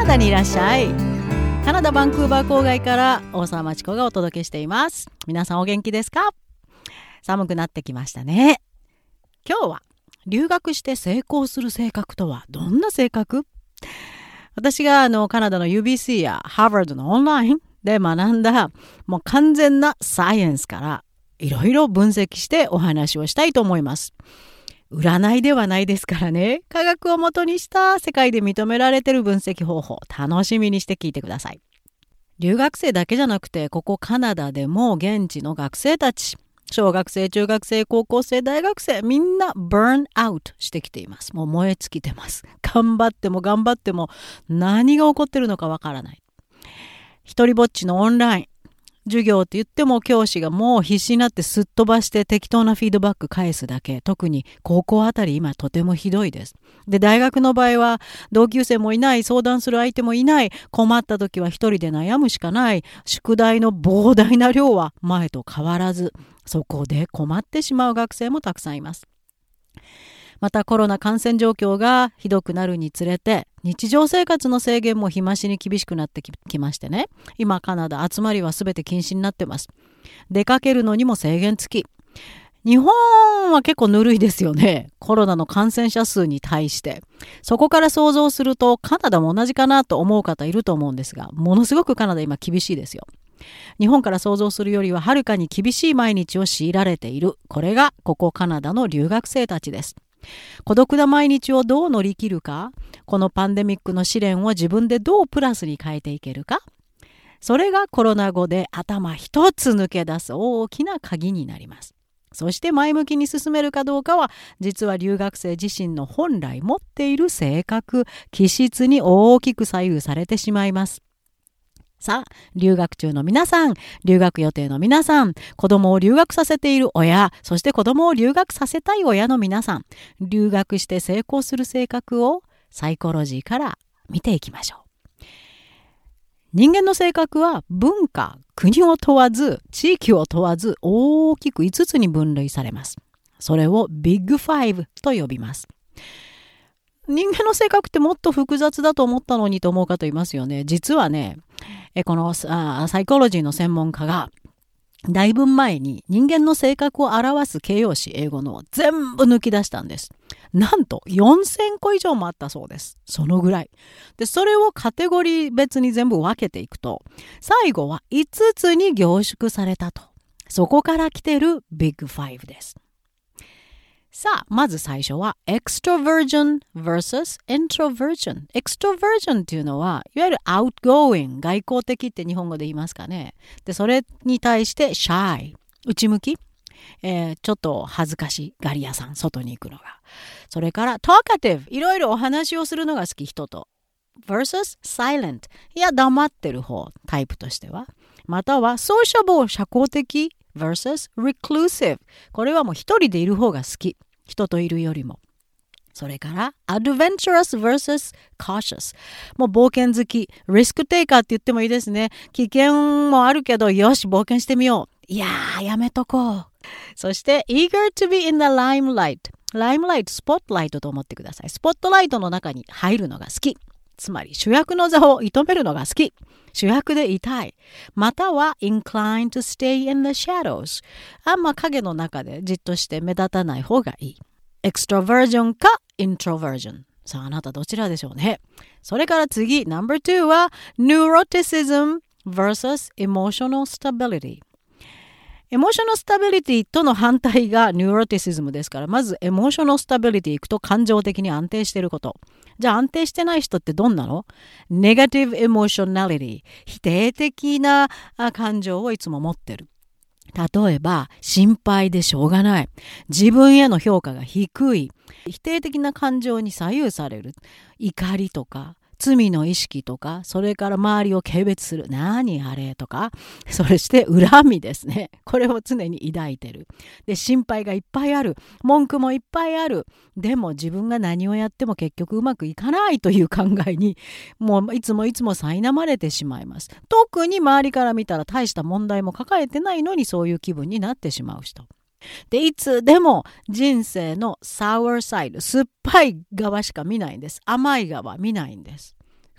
ナダにいらっしゃい。カナダバンクーバー郊外から大沢まちこがお届けしています。皆さんお元気ですか？寒くなってきましたね。今日は留学して成功する性格とはどんな性格？私がカナダの UBC やハーバードのオンラインで学んだもう完全なサイエンスからいろいろ分析してお話をしたいと思います。占いではないですからね。科学をもとにした世界で認められている分析方法、楽しみにして聞いてください。留学生だけじゃなくて、ここカナダでも現地の学生たち、小学生、中学生、高校生、大学生、みんなバーンアウトしてきています。もう燃え尽きてます。頑張っても何が起こってるのかわからない。一人ぼっちのオンライン授業って言っても教師がもう必死になってすっ飛ばして適当なフィードバック返すだけ。特に高校あたり今とてもひどいです。で、大学の場合は同級生もいない、相談する相手もいない、困った時は一人で悩むしかない、宿題の膨大な量は前と変わらず、そこで困ってしまう学生もたくさんいます。またコロナ感染状況がひどくなるにつれて日常生活の制限も日増しに厳しくなってきましてね。今カナダ集まりは全て禁止になってます。出かけるのにも制限付き。日本は結構ぬるいですよね。コロナの感染者数に対して。そこから想像するとカナダも同じかなと思う方いると思うんですが、ものすごくカナダ今厳しいですよ。日本から想像するよりははるかに厳しい毎日を強いられている。これがここカナダの留学生たちです。孤独な毎日をどう乗り切るか、このパンデミックの試練を自分でどうプラスに変えていけるか、それがコロナ後で頭一つ抜け出す大きな鍵になります。そして前向きに進めるかどうかは、実は留学生自身の本来持っている性格、気質に大きく左右されてしまいます。さあ、留学中の皆さん、留学予定の皆さん、子供を留学させている親、そして子供を留学させたい親の皆さん、留学して成功する性格をサイコロジーから見ていきましょう。人間の性格は文化、国を問わず、地域を問わず大きく5つに分類されます。それをビッグファイブと呼びます。人間の性格ってもっと複雑だと思ったのにと思う方いますよね。実はね、このサイコロジーの専門家がだいぶ前に人間の性格を表す形容詞、英語の全部抜き出したんです。なんと4000個以上もあったそうです。そのぐらい。で、それをカテゴリー別に全部分けていくと、最後は5つに凝縮されたと。そこから来てるビッグファイブです。さあ、まず最初は extroversion versus introversion。extroversion っていうのは、いわゆる outgoing、外交的って日本語で言いますかね。で、それに対して shy、内向き、ちょっと恥ずかしがり屋さん、外に行くのが。それから talkative、いろいろお話をするのが好き人と。versus silent、いや、黙ってる方、タイプとしては。または sociable、社交的versus reclusive。これはもう一人でいる方が好き。人といるよりも。それから adventurous versus cautious。もう冒険好き。リスクテイカーって言ってもいいですね。危険もあるけど、よし、冒険してみよう。いやー、やめとこう。そして eager to be in the limelight。ライムライト、スポットライトと思ってください。スポットライトの中に入るのが好き。つまり主役の座を射止めるのが好き。主役でいたい。または inclined to stay in the shadows。あんま影の中でじっとして目立たない方がいい。extroversion か introversion。さあ、あなたどちらでしょうね。それから次、No.2 は neuroticism versus emotional stability。エモーショナルスタビリティとの反対がニューロティシズムですから、まずエモーショナルスタビリティいくと感情的に安定していること。じゃあ安定してない人ってどんなの？ネガティブエモーショナリティ、否定的な感情をいつも持ってる。例えば心配でしょうがない、自分への評価が低い、否定的な感情に左右される、怒りとか罪の意識とか、それから周りを軽蔑する、何あれとか、そして恨みですね。これを常に抱いてる。で、心配がいっぱいある、文句もいっぱいある。でも自分が何をやっても結局うまくいかないという考えに、もういつも苛まれてしまいます。特に周りから見たら大した問題も抱えてないのにそういう気分になってしまう人。で、いつでも人生のサワーサイド、酸っぱい側しか見ないんです。甘い側見ないんです。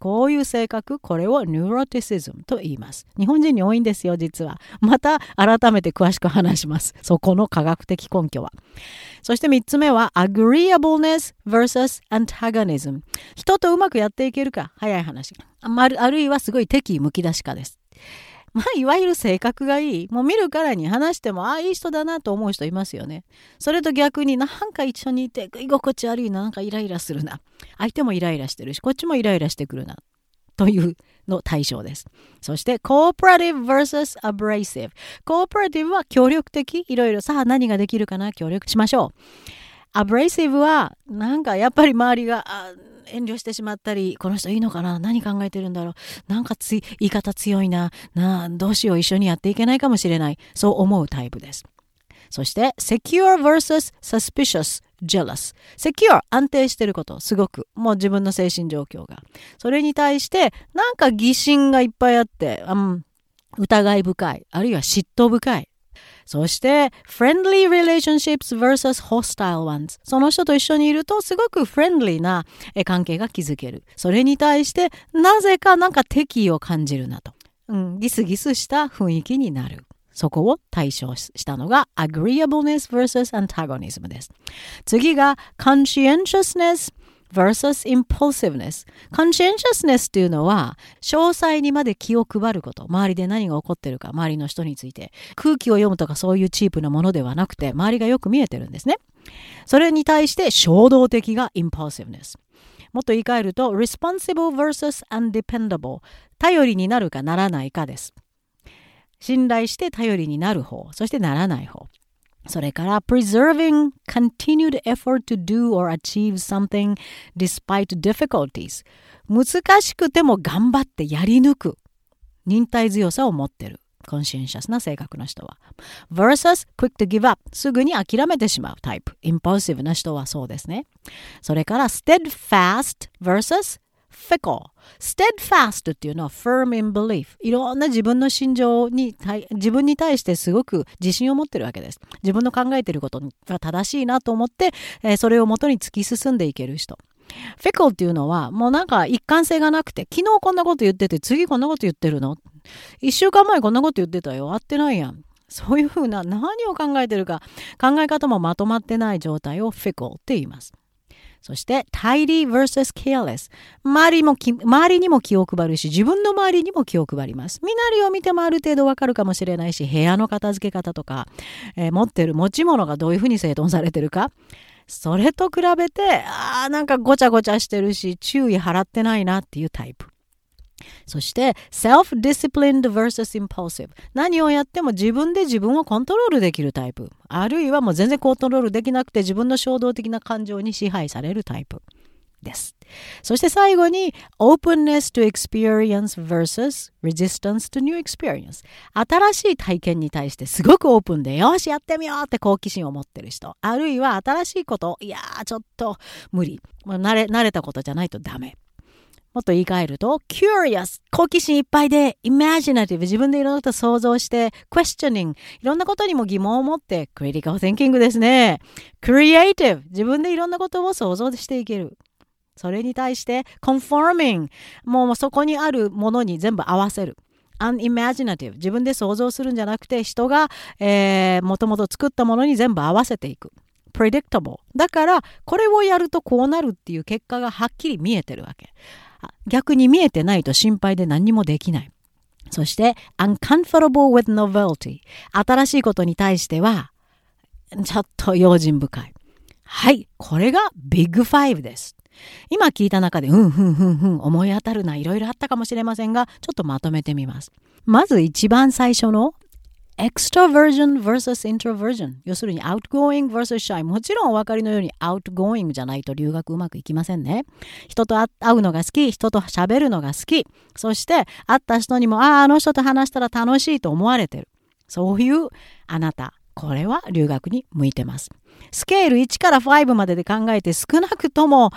こういう性格、これを neuroticism と言います。日本人に多いんですよ、実は。また改めて詳しく話します。そこの科学的根拠は。そして3つ目は agreeableness versus antagonism。人とうまくやっていけるか、早い話。あるいはすごい敵意むき出しかです。いわゆる性格がいい。もう見るからに話しても、いい人だなと思う人いますよね。それと逆になんか一緒にいて居心地悪いな、なんかイライラするな。相手もイライラしてるし、こっちもイライラしてくるな。というの対象です。そして、cooperative versus abrasive。cooperative は協力的。いろいろさあ何ができるかな、協力しましょう。abrasive はなんかやっぱり周りが遠慮してしまったり、この人いいのかな、何考えてるんだろう、なんか言い方強いな、どうしよう、一緒にやっていけないかもしれない、そう思うタイプです。そして secure versus suspicious jealous。 secure 安定してること、すごくもう自分の精神状況が、それに対してなんか疑心がいっぱいあって、疑い深い、あるいは嫉妬深い。そして friendly relationships versus hostile ones。 その人と一緒にいるとすごくフレンドリーな関係が築ける。それに対してなぜかなんか敵意を感じるなと、ギスギスした雰囲気になる。そこを対象したのが agreeableness versus antagonism です。次が conscientiousness versus impulsiveness。 conscientiousness というのは詳細にまで気を配ること。周りで何が起こってるか、周りの人について空気を読むとかそういうチープなものではなくて、周りがよく見えてるんですね。それに対して衝動的が impulsiveness。 もっと言い換えると responsible versus undependable。 頼りになるかならないかです。信頼して頼りになる方、そしてならない方。それから preserving continued effort to do or achieve something despite difficulties。 難しくても頑張ってやり抜く忍耐強さを持っているコンシェンシャスな性格の人は versus quick to give up。 すぐに諦めてしまうタイプ、インパルシブな人はそうですね。それから steadfast versus fickle。 steadfast っていうのは firm in belief。 いろんな自分の心情に自分に対してすごく自信を持ってるわけです。自分の考えていることが正しいなと思って、それをもとに突き進んでいける人。fickle っていうのはもうなんか一貫性がなくて、昨日こんなこと言ってて次こんなこと言ってるの、一週間前こんなこと言ってたよ、合ってないやん。そういうふうな何を考えてるか、考え方もまとまってない状態を fickle って言います。そして tidy versus careless。 周りにも気を配るし、自分の周りにも気を配ります。身なりを見てもある程度わかるかもしれないし、部屋の片付け方とか、持ってる持ち物がどういうふうに整頓されてるか、それと比べてなんかごちゃごちゃしてるし、注意払ってないなっていうタイプ。そして self-disciplined versus impulsive。 何をやっても自分で自分をコントロールできるタイプ、あるいはもう全然コントロールできなくて自分の衝動的な感情に支配されるタイプです。そして最後に openness to experience versus resistance to new experience。 新しい体験に対してすごくオープンで、よしやってみようって好奇心を持ってる人、あるいは新しいこと、いやちょっと無理、もう慣れたことじゃないとダメ。もっと言い換えると curious、 好奇心いっぱいで imaginative、 自分でいろんなことを想像して questioning、 いろんなことにも疑問を持って critical thinking ですね。 creative、 自分でいろんなことを想像していける。それに対して conforming、 もうそこにあるものに全部合わせる。unimaginative、 自分で想像するんじゃなくて人がもともと作ったものに全部合わせていく。predictable、 だからこれをやるとこうなるっていう結果がはっきり見えてるわけ。逆に見えてないと心配で何にもできない。そして uncomfortable with novelty、 新しいことに対してはちょっと用心深い。はい、これがビッグ5です。今聞いた中で思い当たるな、いろいろあったかもしれませんが、ちょっとまとめてみます。まず一番最初のextroversion versus introversion、 要するに outgoing versus shy。 もちろんお分かりのように outgoing じゃないと留学うまくいきませんね。人と会うのが好き、人と喋るのが好き、そして会った人にもあの人と話したら楽しいと思われてる、そういうあなた、これは留学に向いてます。スケール1から5までで考えて少なくとも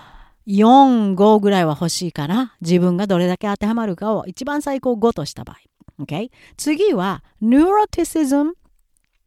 4、5ぐらいは欲しいかな。自分がどれだけ当てはまるかを一番最高5とした場合。Okay? 次は neuroticism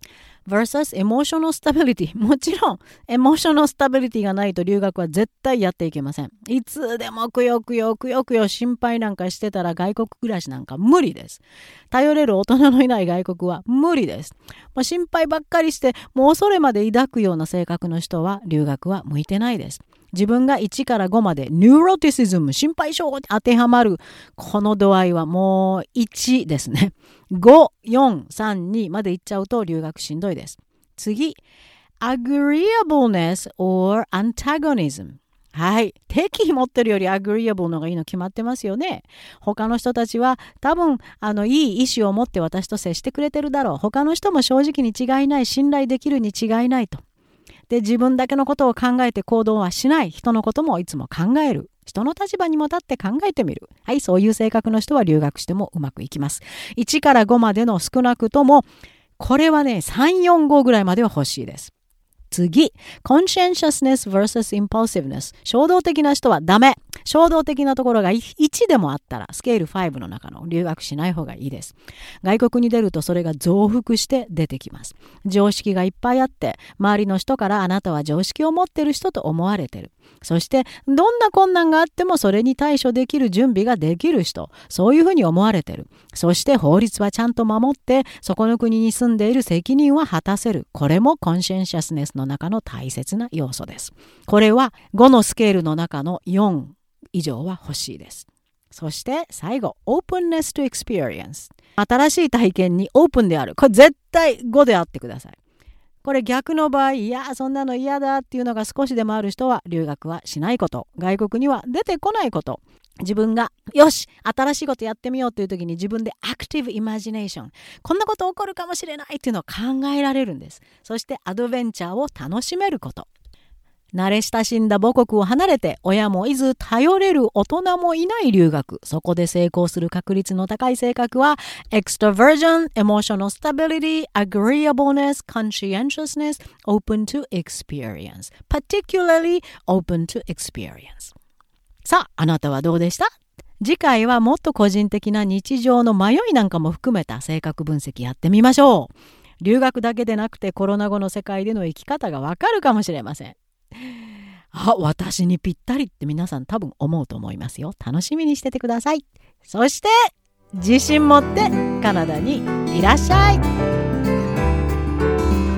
versus emotional stability。もちろん、emotional stability がないと留学は絶対やっていけません。いつでもくよくよ心配なんかしてたら外国暮らしなんか無理です。頼れる大人のいない外国は無理です。心配ばっかりして、もう恐れまで抱くような性格の人は留学は向いてないです。自分が1から5までニューロティシズム、心配性に当てはまるこの度合いはもう1ですね。5、4、3、2までいっちゃうと留学しんどいです。次、agreeableness or antagonism。はい。敵持ってるより agreeable のがいいの決まってますよね。他の人たちは多分いい意志を持って私と接してくれてるだろう。他の人も正直に違いない、信頼できるに違いないと。で、自分だけのことを考えて行動はしない。人のこともいつも考える。人の立場にも立って考えてみる。はい、そういう性格の人は留学してもうまくいきます。1から5までの少なくとも、これはね、3、4、5ぐらいまでは欲しいです。次、conscientiousness versus impulsiveness。衝動的な人はダメ。衝動的なところが1でもあったら、スケール5の中の留学しない方がいいです。外国に出るとそれが増幅して出てきます。常識がいっぱいあって、周りの人からあなたは常識を持ってる人と思われてる。そして、どんな困難があってもそれに対処できる準備ができる人。そういうふうに思われてる。そして法律はちゃんと守って、そこの国に住んでいる責任は果たせる。これもコンシェンシャスネスの中の大切な要素です。これは5のスケールの中の4以上は欲しいです。そして最後、openness to experience。新しい体験にオープンである。これ絶対5であってください。これ逆の場合、いやそんなの嫌だっていうのが少しでもある人は留学はしないこと。外国には出てこないこと。自分がよし新しいことやってみようという時に自分でアクティブイマジネーション、こんなこと起こるかもしれないっていうのを考えられるんです。そしてアドベンチャーを楽しめること。慣れ親しんだ母国を離れて親もいず頼れる大人もいない留学、そこで成功する確率の高い性格は extroversion, emotional stability, agreeableness, conscientiousness, open to experience, particularly open to experience。さあ、あなたはどうでした？次回はもっと個人的な日常の迷いなんかも含めた性格分析やってみましょう。留学だけでなくてコロナ後の世界での生き方がわかるかもしれません。あ、私にぴったりって皆さん多分思うと思いますよ。楽しみにしててください。そして自信持ってカナダにいらっしゃい。